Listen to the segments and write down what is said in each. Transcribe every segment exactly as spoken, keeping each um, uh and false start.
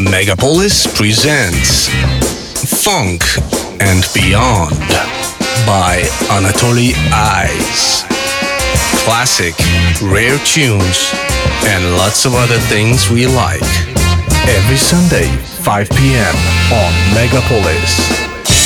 Megapolis presents Funk and Beyond by Anatoly Ice. Classic, rare tunes, and lots of other things we like. Every Sunday, five p.m. on Megapolis.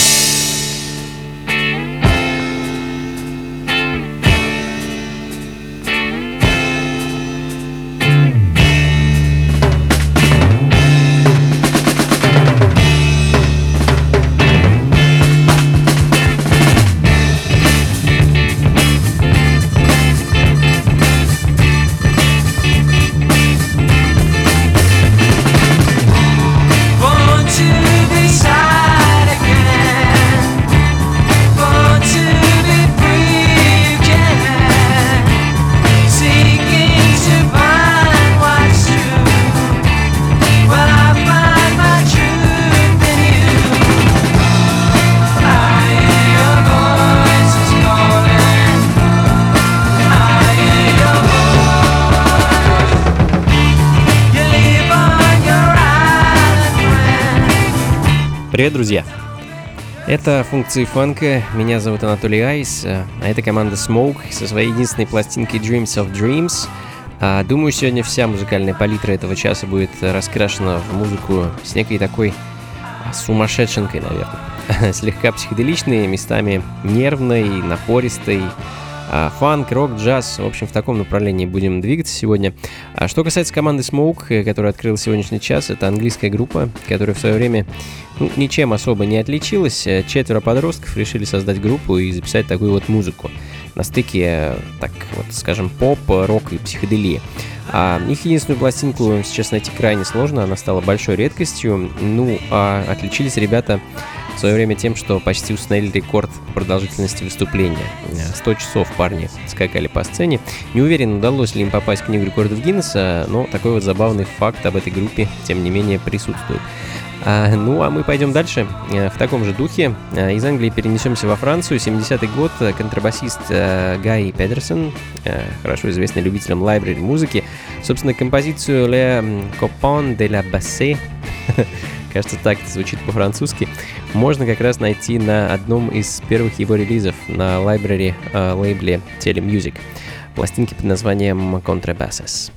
Привет, друзья! Это функции фанка, меня зовут Анатолий Айс, а это команда Smoke со своей единственной пластинкой Dreams of Dreams. Думаю, сегодня вся музыкальная палитра этого часа будет раскрашена в музыку с некой такой сумасшедшенкой, наверное. Слегка психоделичной, местами нервной, напористой. Фанк, рок, джаз, в общем, в таком направлении будем двигаться сегодня. А что касается команды Smoke, которая открыла сегодняшний час, это английская группа, которая в свое время ну, ничем особо не отличилась. Четверо подростков решили создать группу и записать такую вот музыку на стыке, так вот скажем, поп, рок и психоделии. А их единственную пластинку сейчас найти крайне сложно, она стала большой редкостью. Ну, а отличились ребята в свое время тем, что почти установили рекорд продолжительности выступления. сто часов парни скакали по сцене. Не уверен, удалось ли им попасть в книгу рекордов Гиннесса, но такой вот забавный факт об этой группе, тем не менее, присутствует. А, ну, а мы пойдем дальше в таком же духе. Из Англии перенесемся во Францию. семидесятый год. Контрабасист Гай Педерсон, хорошо известный любителям лайбрери музыки, собственно, композицию «Le Copain de la Basse», кажется, так это звучит по-французски, можно как раз найти на одном из первых его релизов на лайбрери э, лейбле Telemusic. Пластинки под названием «Contrabasses».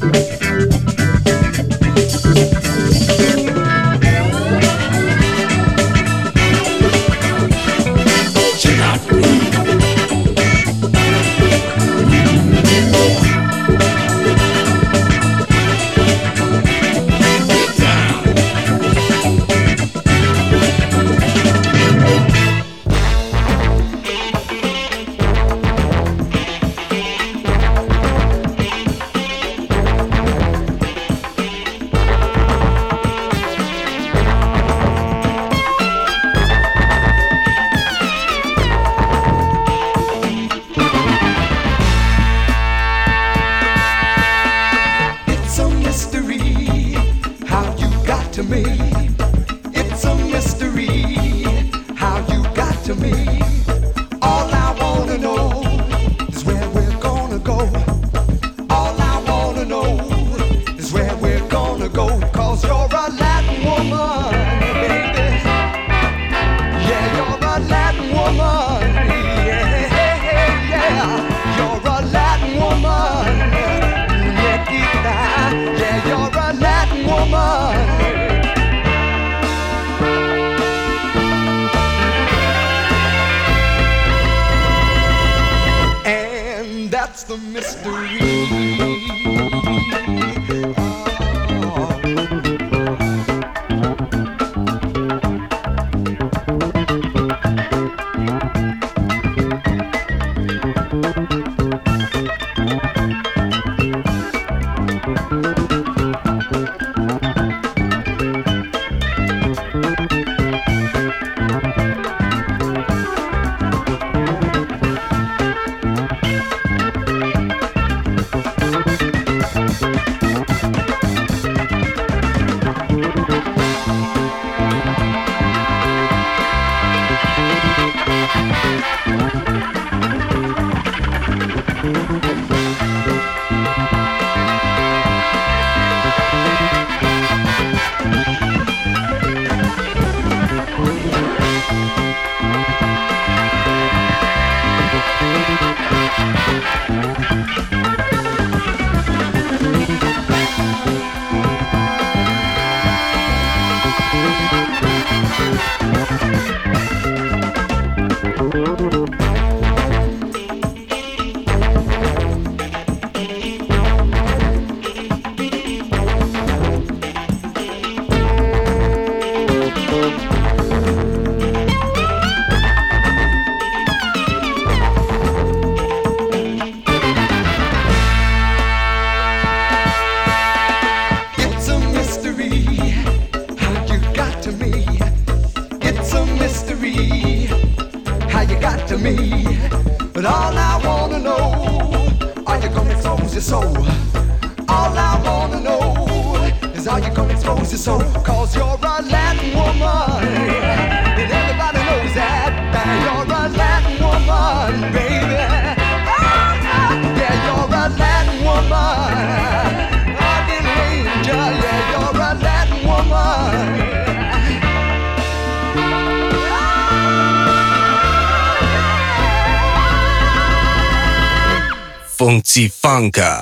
Funky Funka.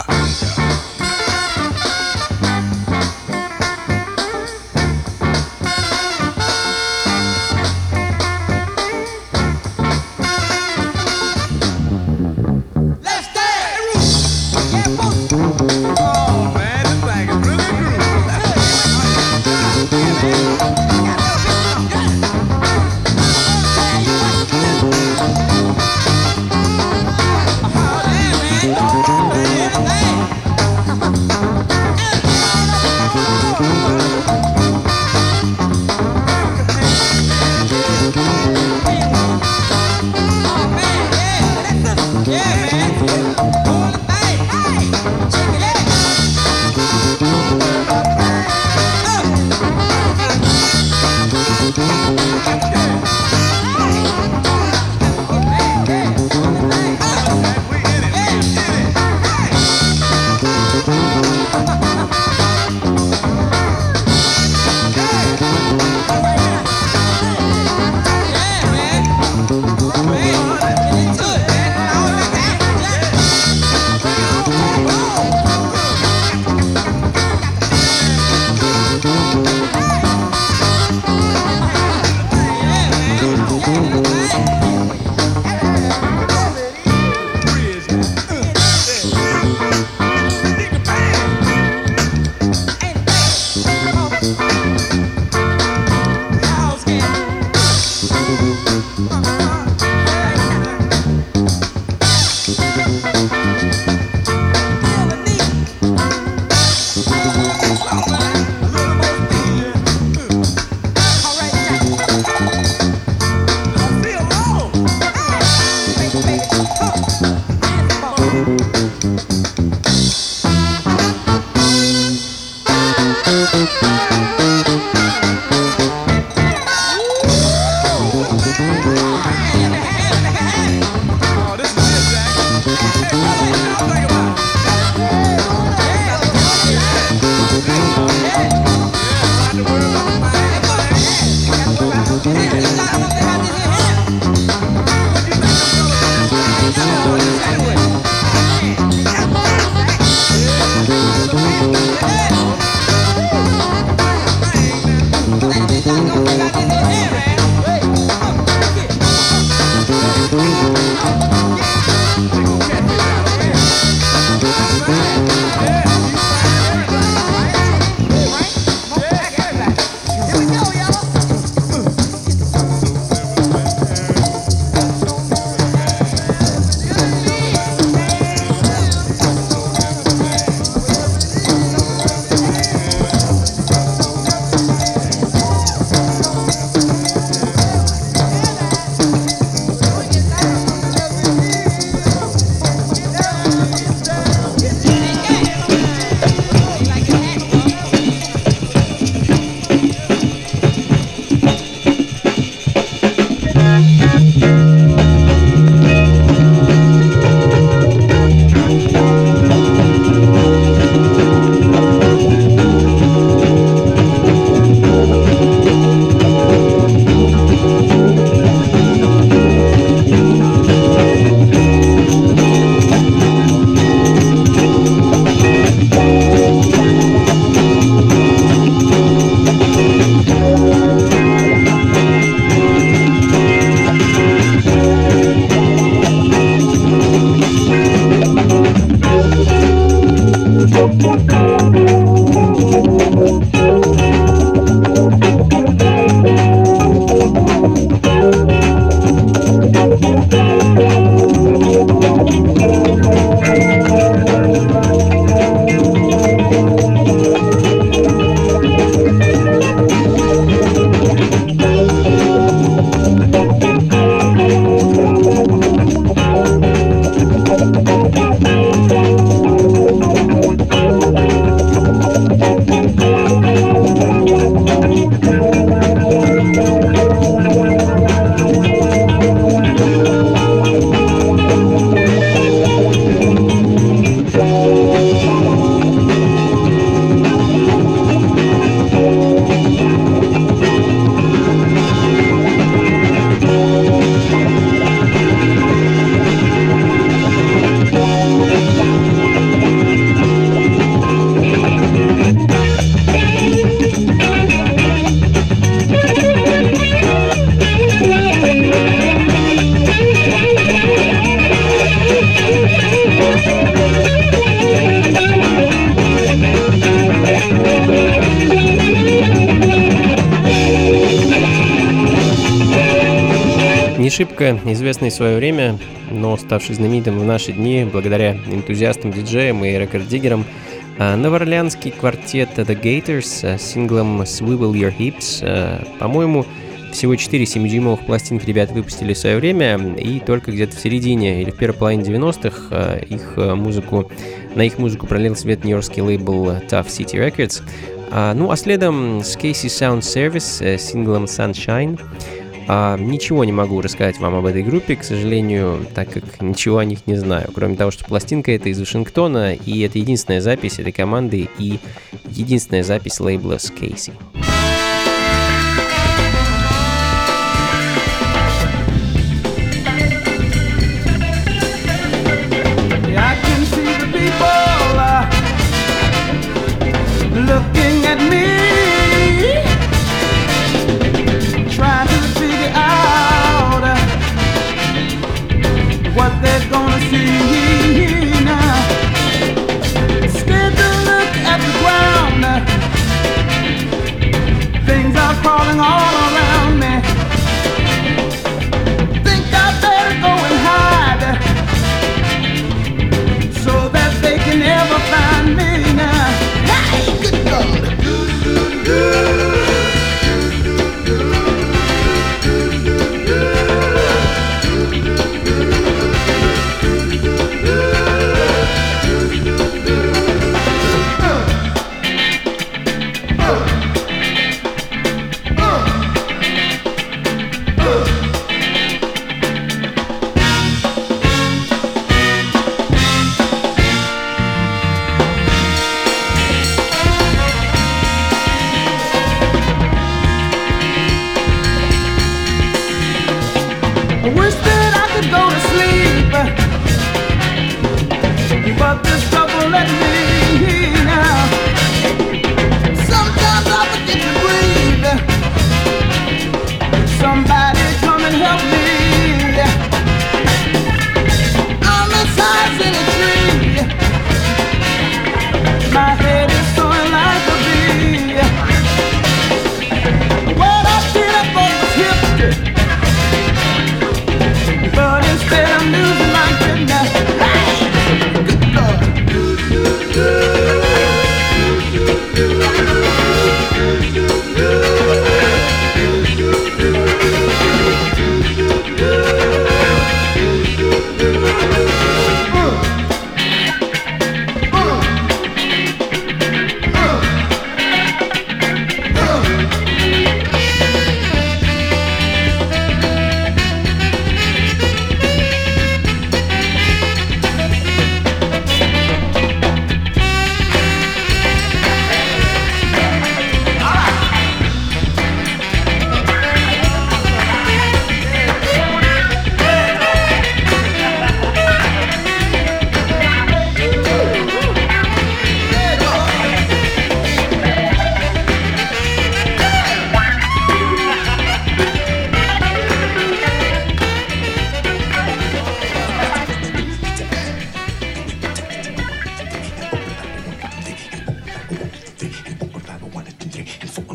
Не шибко известный в свое время, но ставший знаменитым в наши дни благодаря энтузиастам диджеям и рекорд-диггерам, новоорлеанский квартет The Gators с синглом Swivel Your Hips. По-моему, всего четыре семидюймовых пластинки ребята выпустили в свое время, и только где-то в середине или в первой половине девяностых их музыку, на их музыку пролил свет нью-йоркский лейбл Tough City Records. Ну а следом с Casey Sound Service с синглом Sunshine. А, ничего не могу рассказать вам об этой группе, к сожалению, так как ничего о них не знаю, кроме того, что пластинка эта из Вашингтона, и это единственная запись этой команды и единственная запись лейбла с Casey. What they're gonna see now. Scared to look at the ground.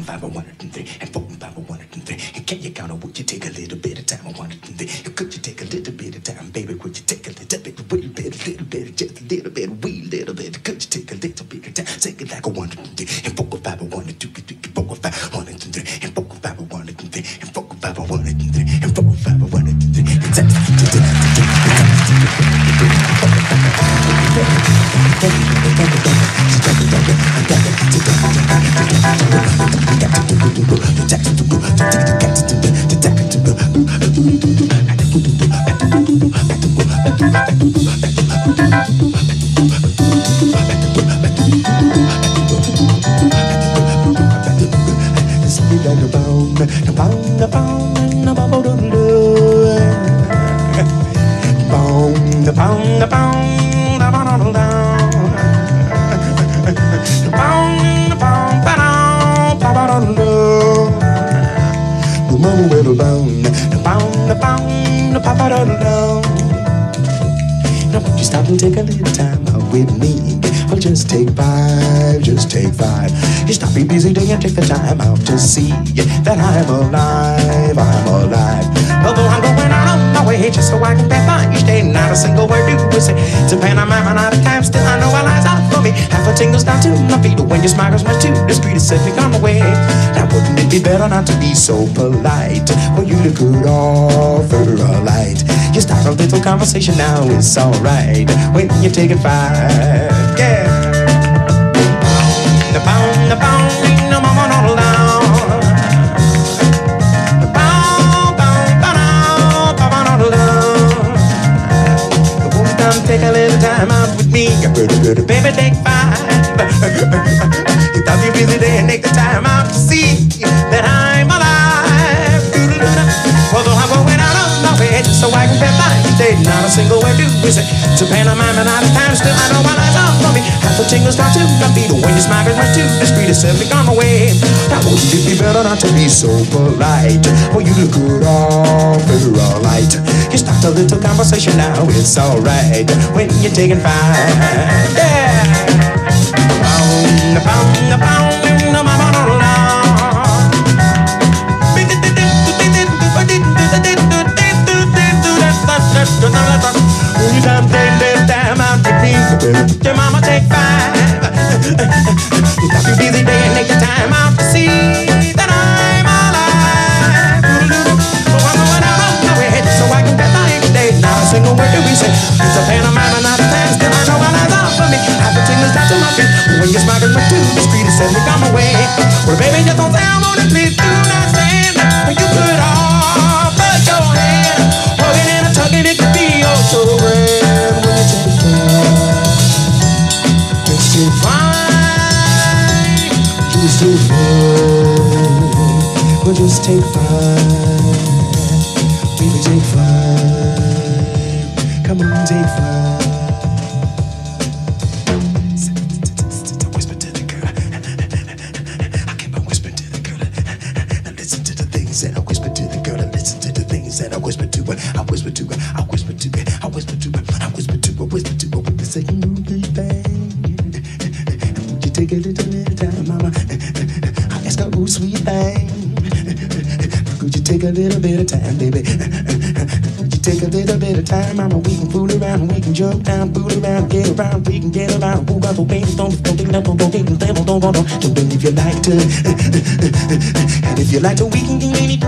five, I want it and three, and four and five, I want it and three. And can you count on would you take a little bit of time? I want it and three. And could you take a little bit of time, baby? Would you take a little bit, wee bit, a little bit, just a little bit, wee little bit? Could you take a little bit of time? Take it like I want it and three, and four and five, I want it, two, three, four and five, I want it and three, and four and five, I want it and three, and four and five, I want it and three, and four and five, I want it and three. And take take a little time out with me. Well, just take five, just take five. You stop your busy day and take the time out to see that I'm alive, I'm alive. Although I'm going out on my way just so I can pass by each day, not a single word do we say. It's a pantomime out of time, still I know our lies out for me. Half a tingles down to my feet when your smile goes much too discreet. It's simply on the way. Now wouldn't it be better not to be so polite? Well, you look good offer a light. You start a little conversation now, it's alright when you take it five, yeah. The pound, the pound, no mama, no down. The pound, pound, pound, pound, no down. The whole time, take a little time out with me. Baby, take five. You thought you busy day and take the time out to see that I'm alive. Although I'm going out on my way just so I can get by each day, not a single word do we say. It's a pantomime and out of time, still I know my lies are for me. Half the tingles start to my feet when your smile goes much too discreet. It's simply gone away. Now wouldn't it be better not to be so polite? Well, you look good all very all right. You start a little conversation now, it's alright when you're taking five, yeah. Pound, pound, pound, no mama, no love. You done take this time out to me. Your mama take five. You stop your busy day and take the time out to see that I'm alive. So I'm going out on my way so I can get by every day. Not a single word do we say. It's a pantomime and not a time. Still I know my lies are for me. Half the tingles down to my feet when your smile goes too discreet. It says we come away. Well, baby, just don't sound on it, please do not stand. You could all put your hand, hugging and a tugging, it could be oh so grand when you take five. Just take five, just take five. Well, just take five, baby, take five. Come on, take five. And I whisper to the girl, and listen to the things that I whisper to her. I whisper to her, I whisper to her, I whisper to her, I whisper to her, whisper to her with the same good thing. Would you take a little little time, mama? I ask her, oh sweet thing. Could you take a little bit of time, baby? Could you take a little bit of time, mama? We can fool around, we can jump down, fool around, get around, we can get around. Who got the baby? Don't don't take that, don't don't take that, don't don't don't don't don't if you like to. And if you like to, we can do anything.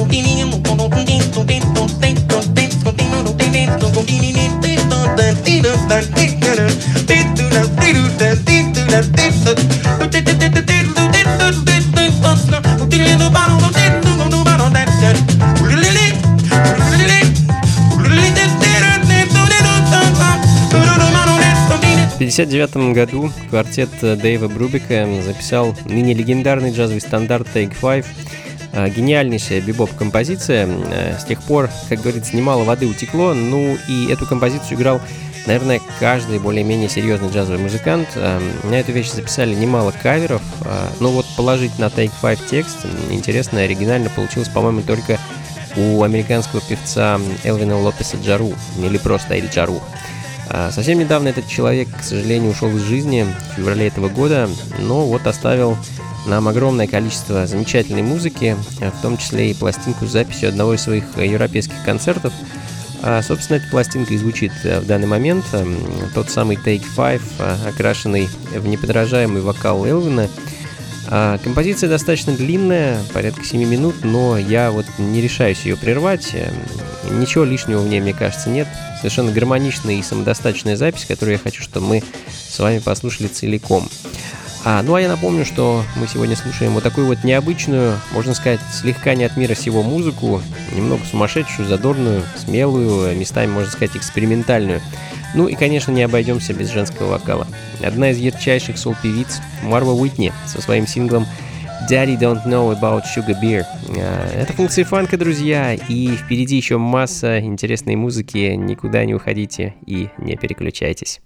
В пятьдесят девятом году квартет Дэйва Брубика записал ныне легендарный джазовый стандарт Take Five. Гениальнейшая бибоп-композиция. С тех пор, как говорится, немало воды утекло. Ну и эту композицию играл, наверное, каждый более-менее серьезный джазовый музыкант. На эту вещь записали немало каверов. Но вот положить на Take Five текст интересно, оригинально получилось, по-моему, только у американского певца Элвина Лопеса Джару, или просто Эль Джару. Совсем недавно этот человек, к сожалению, ушел из жизни в феврале этого года, но вот оставил нам огромное количество замечательной музыки, в том числе и пластинку с записью одного из своих европейских концертов. А, собственно, эта пластинка и звучит в данный момент. Тот самый Take Five, окрашенный в неподражаемый вокал Элвина. А, композиция достаточно длинная, порядка семи минут, но я вот не решаюсь ее прервать. Ничего лишнего в ней, мне кажется, нет. Совершенно гармоничная и самодостаточная запись, которую я хочу, чтобы мы с вами послушали целиком. А, ну а я напомню, что мы сегодня слушаем вот такую вот необычную, можно сказать, слегка не от мира сего музыку, немного сумасшедшую, задорную, смелую, местами, можно сказать, экспериментальную. Ну и, конечно, не обойдемся без женского вокала. Одна из ярчайших сол-певиц, Марва Уитни, со своим синглом Daddy Don't Know About Sugar Beer. Это функции фанка, друзья, и впереди еще масса интересной музыки. Никуда не уходите и не переключайтесь.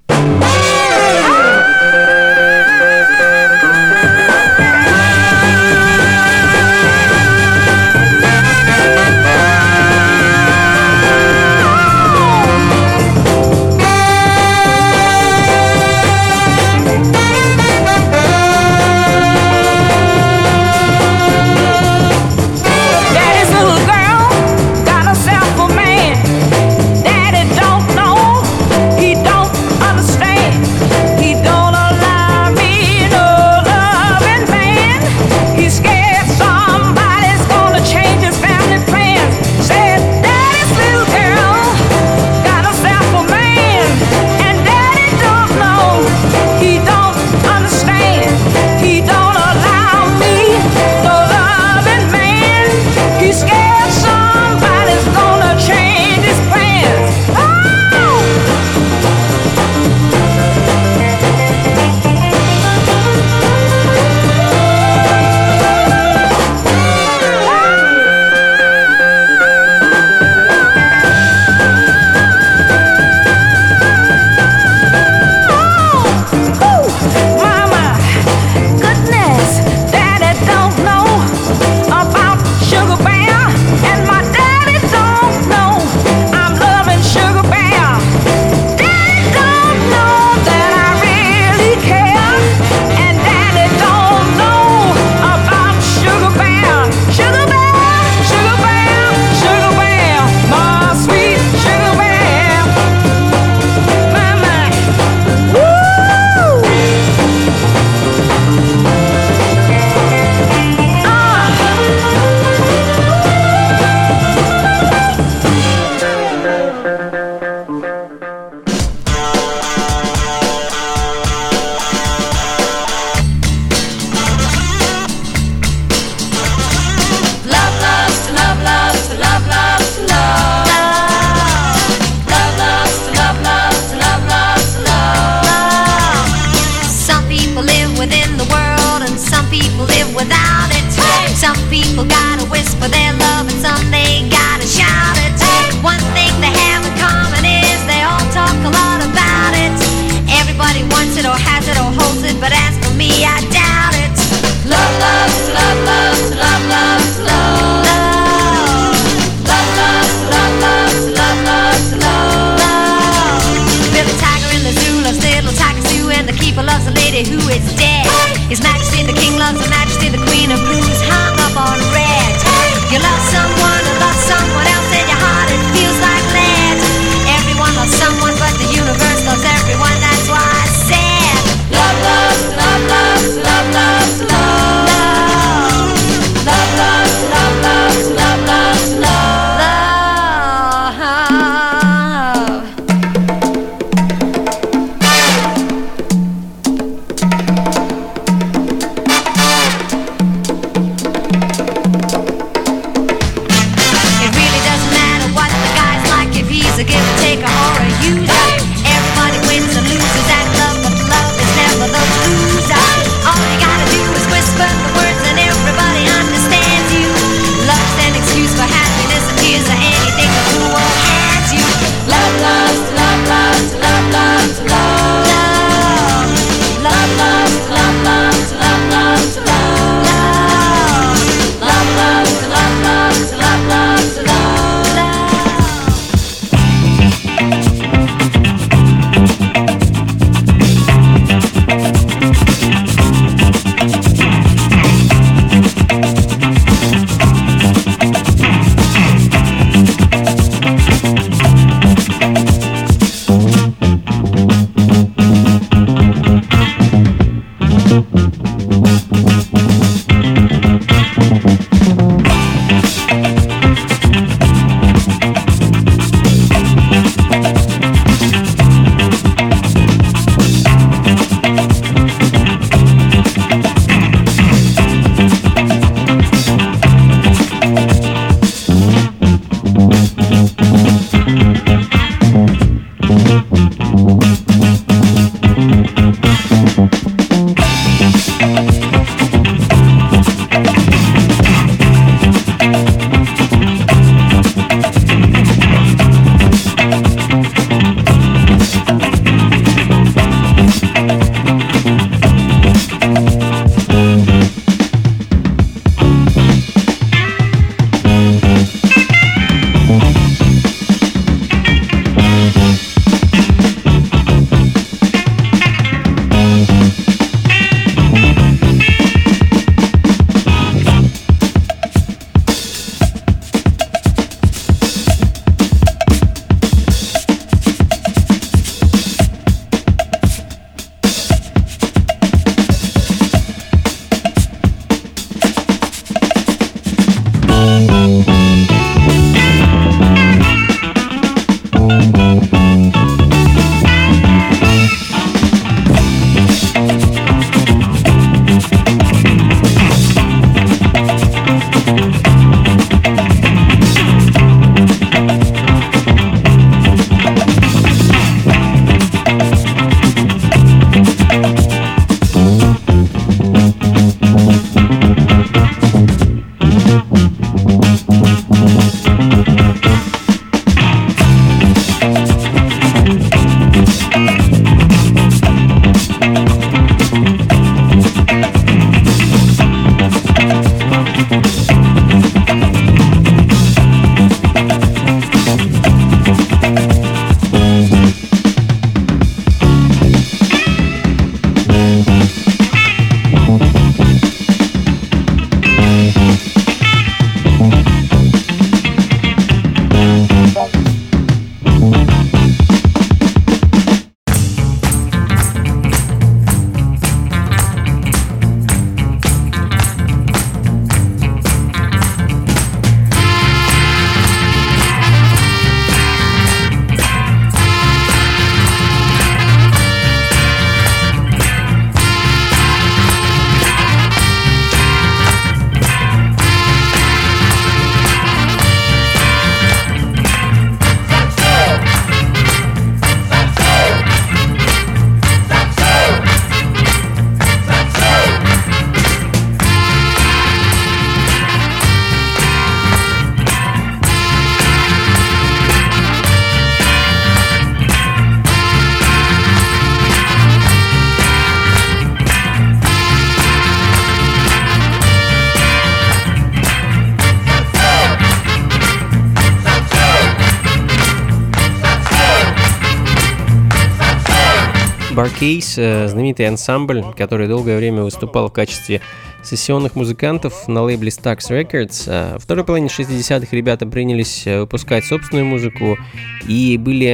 Barcase, знаменитый ансамбль, который долгое время выступал в качестве сессионных музыкантов на лейбле Stax Records. Во второй половине шестидесятых ребята принялись выпускать собственную музыку и были,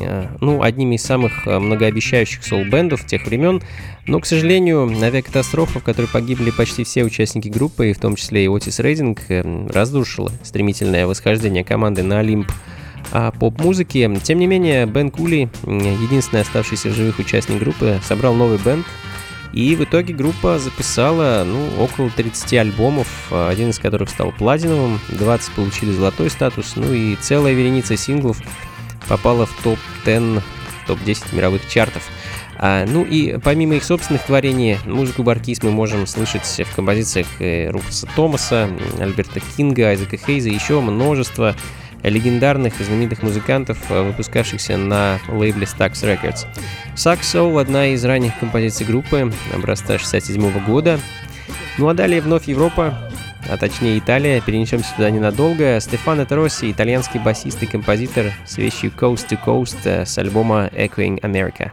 ну, одними из самых многообещающих соул-бэндов тех времен. Но, к сожалению, авиакатастрофа, в которой погибли почти все участники группы, в том числе и Отис Рейдинг, разрушила стремительное восхождение команды на Олимп поп-музыки. Тем не менее, Бен Кули, единственный оставшийся в живых участник группы, собрал новый бэнд, и в итоге группа записала, ну, около тридцати альбомов, один из которых стал платиновым, двадцать получили золотой статус, ну и целая вереница синглов попала в топ десять, топ десять мировых чартов. А, ну и помимо их собственных творений, музыку Barcase мы можем слышать в композициях Руфуса Томаса, Альберта Кинга, Айзека Хейза и еще множество легендарных и знаменитых музыкантов, выпускавшихся на лейбле Stax Records. Sax Soul — одна из ранних композиций группы, образца шестьдесят седьмого года. Ну а далее вновь Европа, а точнее Италия, перенесемся туда ненадолго. Стефано Тросси, итальянский басист и композитор, с вещью Coast to Coast с альбома Echoing America.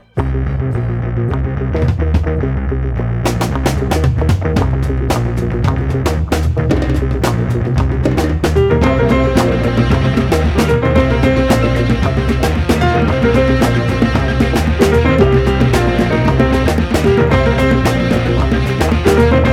We'll be right back.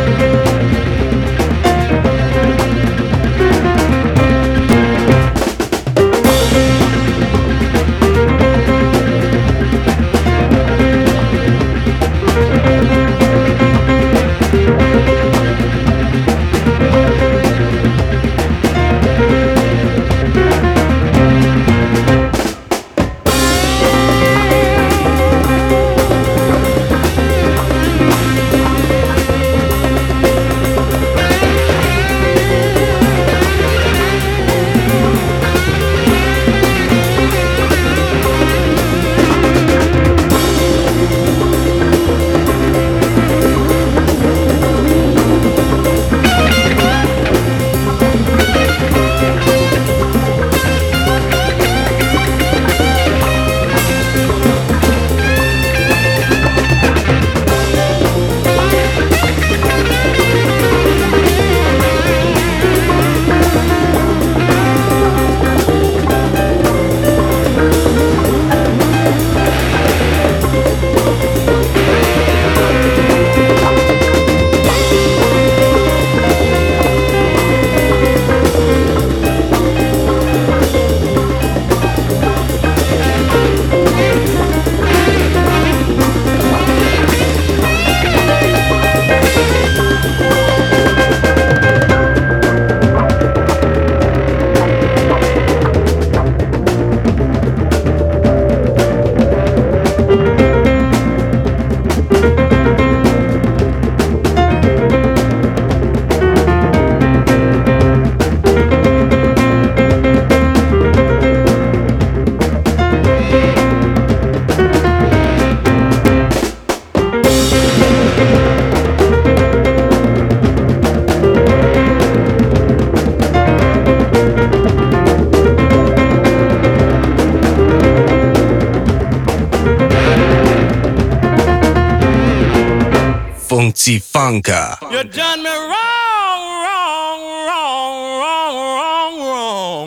Funky Funka. You done me wrong, wrong, wrong, wrong, wrong, wrong.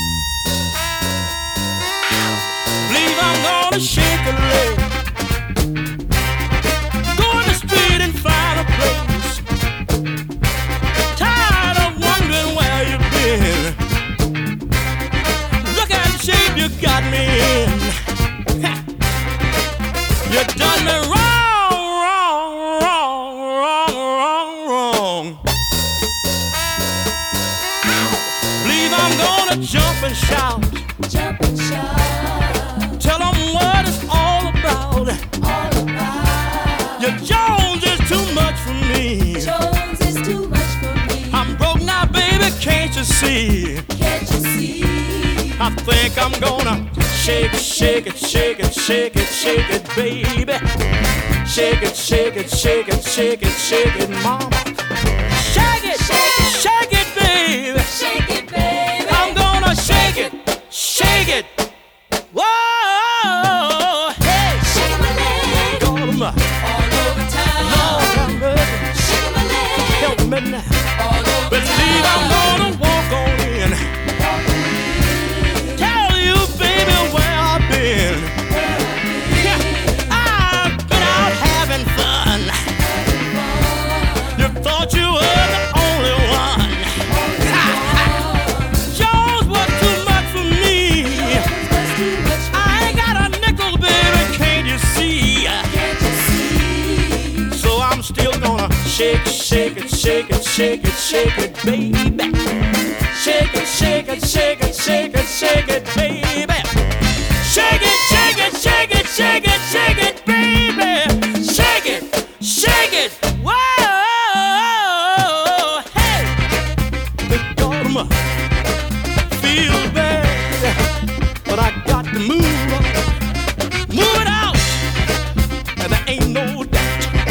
Believe I'm gonna shake a leg. Go in the street and find a place. Tired of wondering where you've been. Look at the shape you got me in. You done me wrong. Jump and shout, jump and shout. Tell them what it's all about. All about. Your Jones is too much for me. Jones is too much for me. I'm broke now, baby, can't you see? Can't you see? I think I'm gonna shake it, shake it, shake it, shake it, shake it, baby. Shake it, shake it, shake it, shake it, shake it, mama. Shake it, shake it, shake it, baby. Shake it, baby. Shake it, shake it. Whoa, hey. Shake my leg. Call 'em up. All over town. Lord have mercy. Shake my leg. Help me now. All over Believe town. I'm gonna walk on in. Walk on in. Tell you, baby, where I've been. Where I've been. I've been out having fun. Having fun. You thought you were the only one. Shake it, shake it, shake it, shake it, shake it, baby. Shake it, shake it, shake it, shake it, shake it, baby. Shake it, shake it, shake it, shake it, shake it, baby. Shake it, shake it. Whoa, hey. Big dogma feels bad, but I got to move on. Move it out, and there ain't no doubt.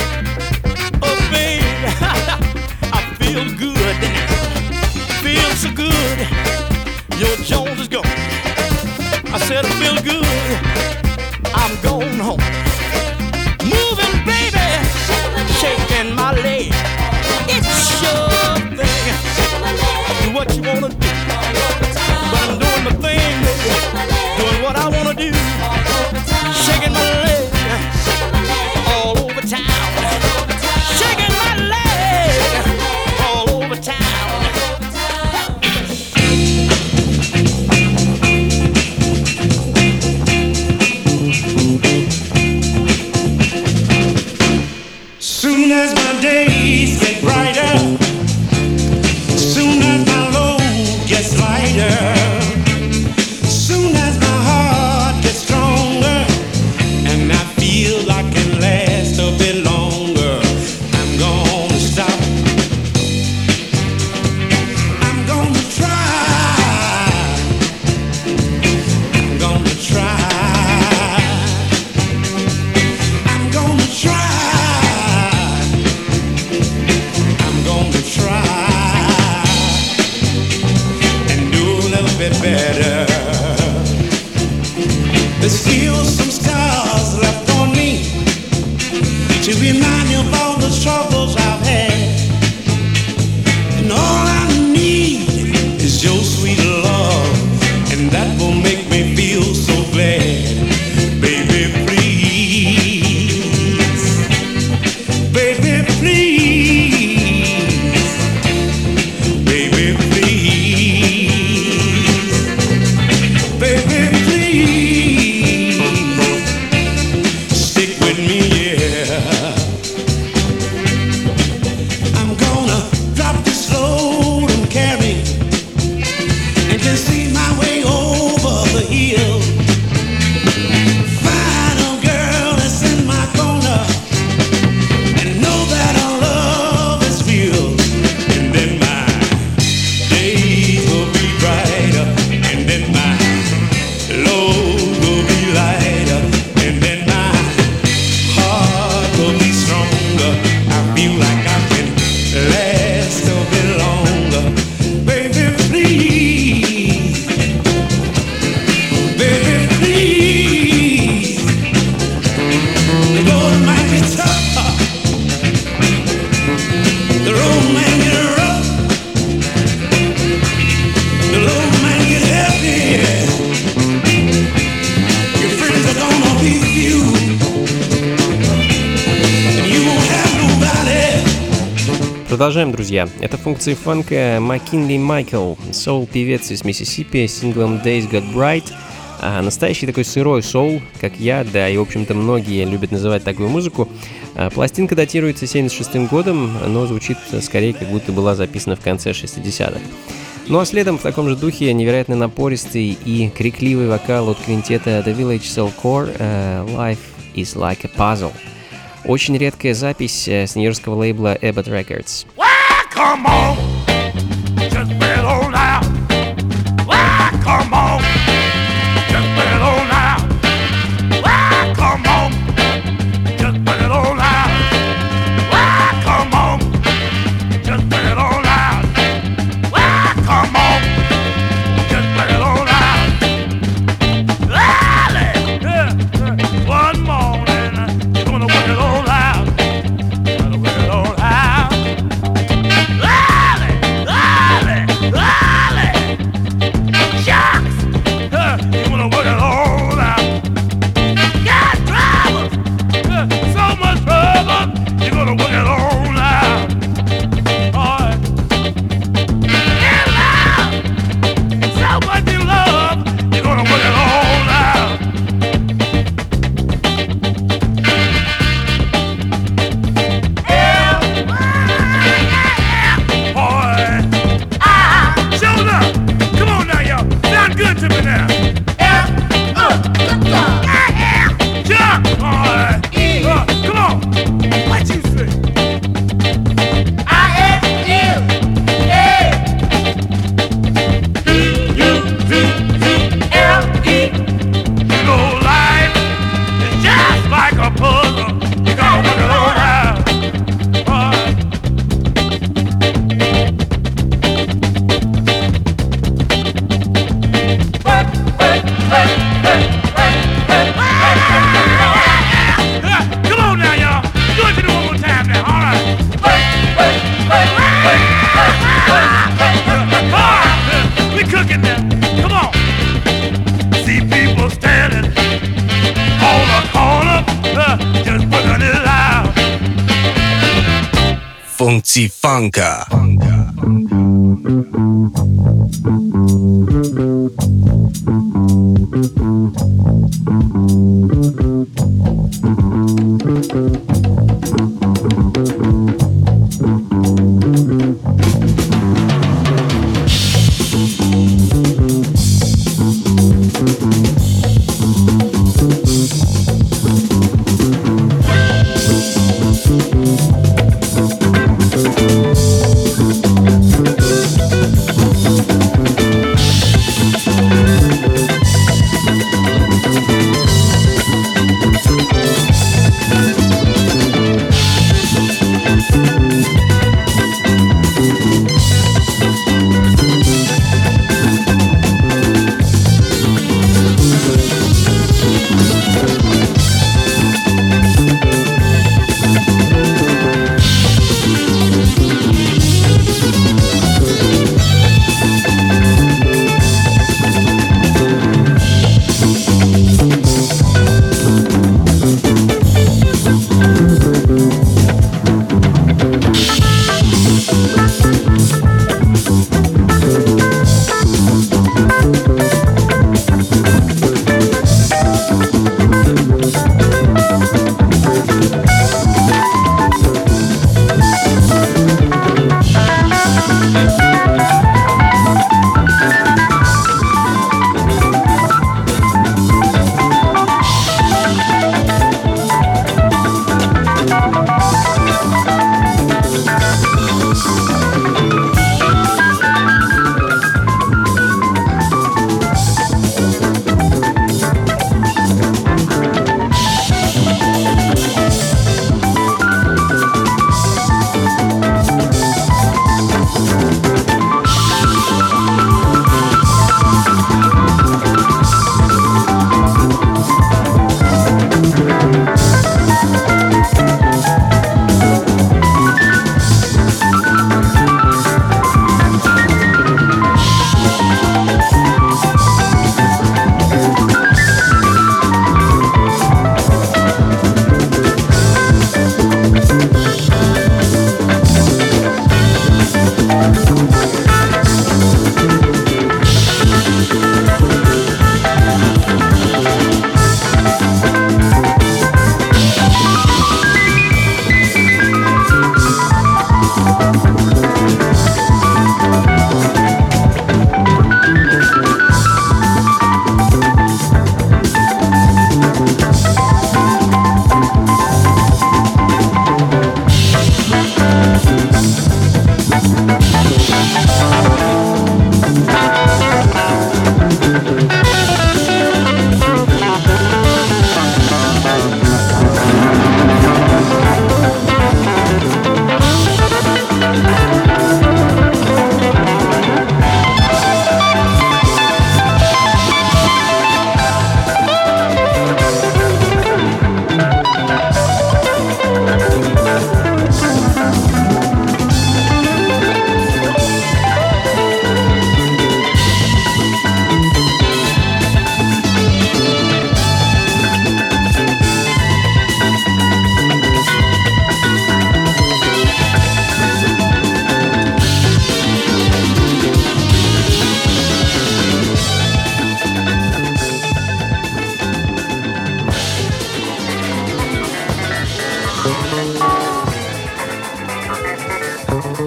Feel good, feel so good. Your Jones is gone. I said I feel good. I'm going home. Moving, baby, shaking my leg. It's your thing. Do what you wanna do, but I'm doing my thing, baby. Doing what I wanna do. Shaking my leg all over town. Shaking my leg all over town. Soon as my days get brighter, soon as my load gets lighter, soon as my heart gets stronger, and I feel I can last a bit longer, I'm gonna stop. I'm gonna try. I'm gonna try. I'm gonna try. Продолжаем, друзья. Это функции фанка Маккинли Майкл, соул-певец из Миссисипи с синглом Days Got Bright. А настоящий такой сырой соул, как я, да, и, в общем-то, многие любят называть такую музыку. А пластинка датируется семьдесят шестым годом, но звучит скорее, как будто была записана в конце шестидесятых. Ну а следом в таком же духе невероятно напористый и крикливый вокал от квинтета The Village Soul Core uh, Life is Like a Puzzle. Очень редкая запись с нью-йоркского лейбла Abbott Records. Come on, just play it on out. Why, come on, just play it on out. Why, come on, just play it on out. Why, come on, just play it on out. Why, come on, just play it on out. Early, yeah, yeah. One morning, you're gonna work it all out. Gonna work it all out. Функции фанка.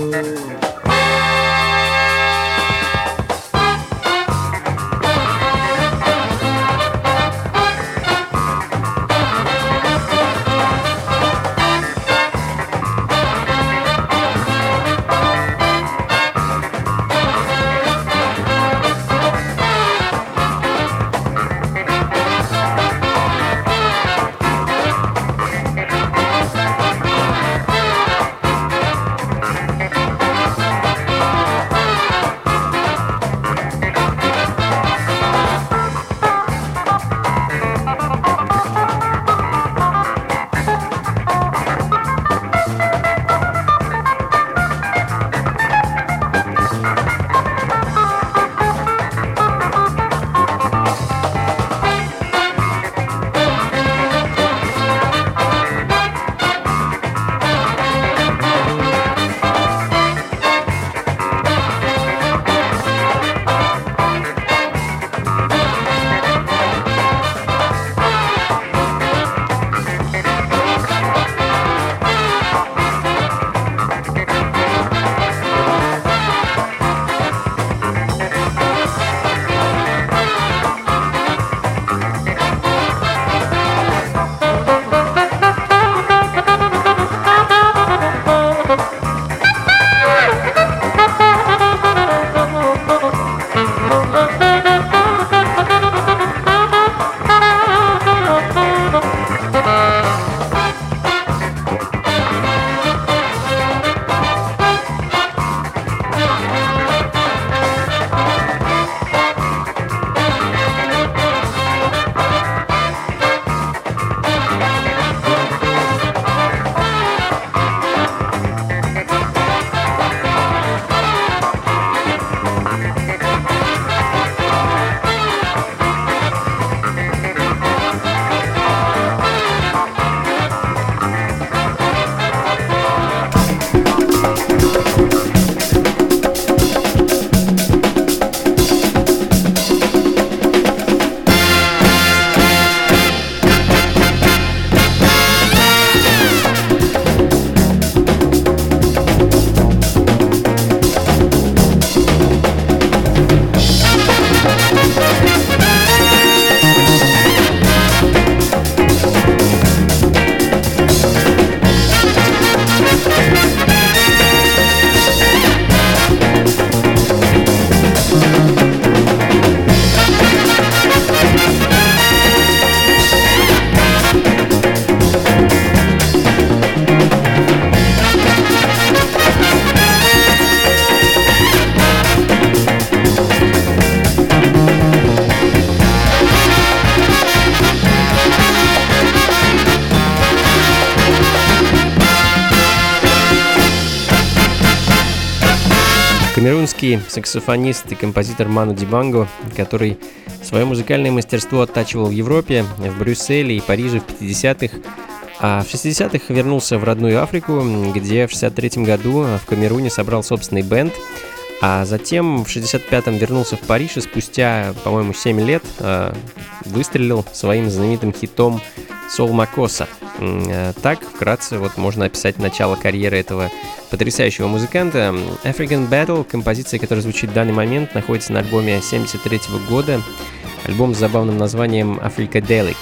Камерунский саксофонист и композитор Ману Дибанго, который свое музыкальное мастерство оттачивал в Европе, в Брюсселе и Париже в пятидесятых, а в шестидесятых вернулся в родную Африку, где в шестьдесят третьем году в Камеруне собрал собственный бэнд, а затем в шестьдесят пятом вернулся в Париж и спустя, по-моему, семь лет выстрелил своим знаменитым хитом «Сол Макоса». Так, вкратце, вот можно описать начало карьеры этого потрясающего музыканта. African Battle, композиция, которая звучит в данный момент, находится на альбоме семьдесят третьего года. Альбом с забавным названием Africadelic.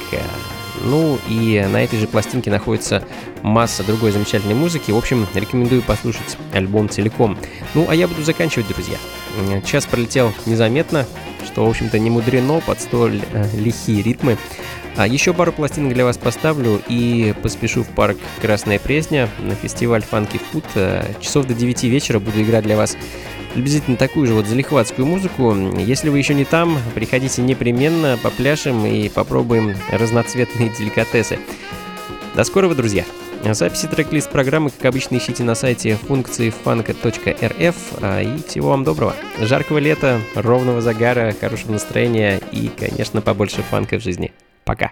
Ну и на этой же пластинке находится масса другой замечательной музыки. В общем, рекомендую послушать альбом целиком. Ну, а я буду заканчивать, друзья. Час пролетел незаметно, что, в общем-то, не мудрено под столь э, лихие ритмы. А еще пару пластинок для вас поставлю и поспешу в парк Красная Пресня на фестиваль Funky Food. Часов до девяти вечера буду играть для вас приблизительно такую же вот залихватскую музыку. Если вы еще не там, приходите непременно, попляшем и попробуем разноцветные деликатесы. До скорого, друзья! Записи трек-лист программы, как обычно, ищите на сайте функции фанка точка эр эф. И всего вам доброго. Жаркого лета, ровного загара, хорошего настроения и, конечно, побольше фанка в жизни. Пока.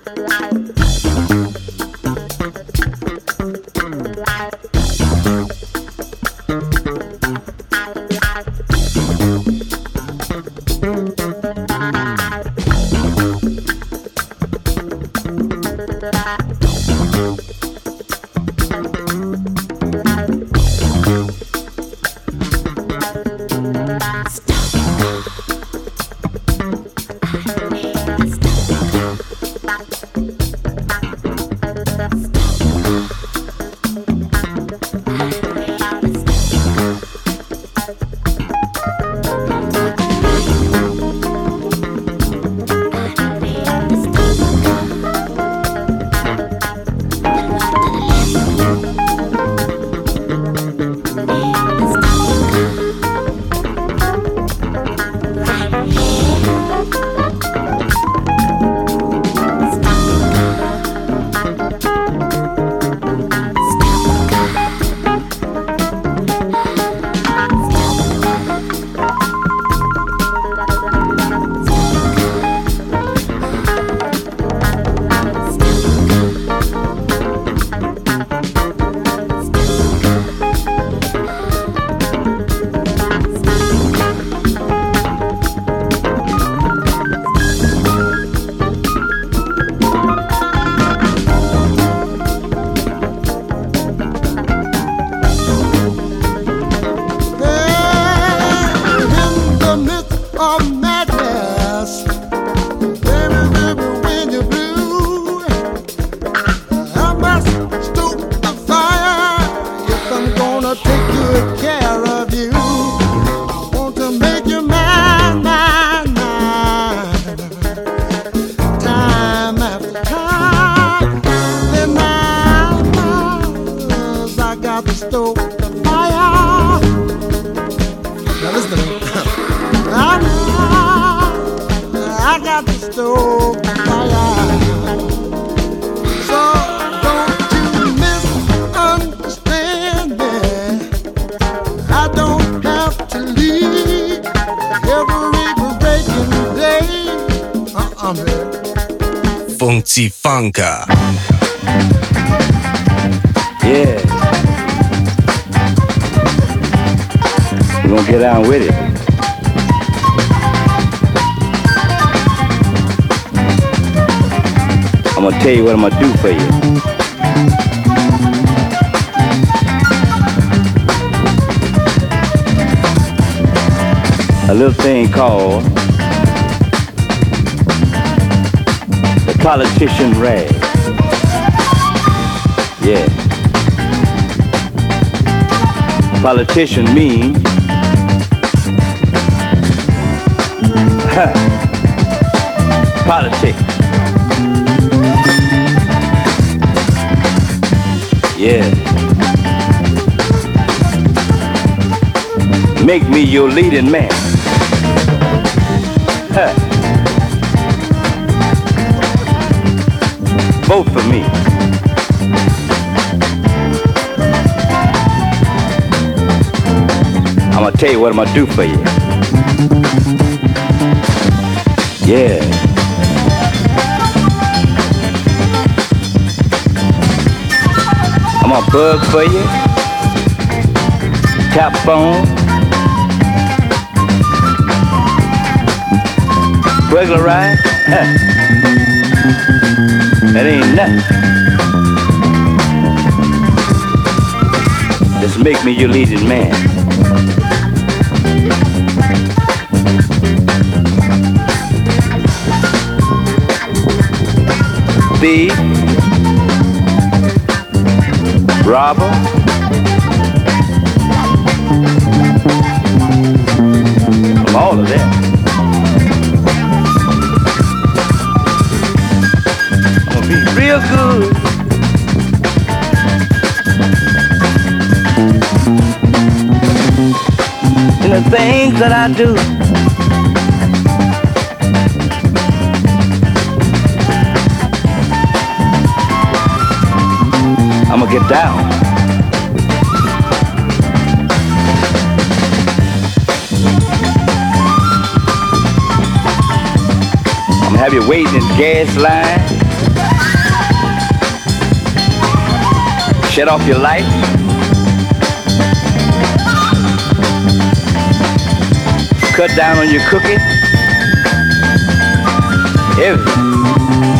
Funky Funka. Yeah. We're gonna get on with it. I'm gonna tell you what I'm gonna do for you. A little thing called the politician rag. Yeah. Politician mean politics. Yeah. Make me your leading man. Huh. Vote for me. I'm gonna tell you what I'm gonna do for you. Yeah. I'm gonna bug for you. Tap phone. Regularize. Huh. That ain't nothing. Just make me your leading man. Thief, robber, from all of that. I'm gonna be real good. In the things that I do. I'm gonna get down. I'm gonna have you waiting in the gas line. Shut off your lights. Cut down on your cooking. Everything.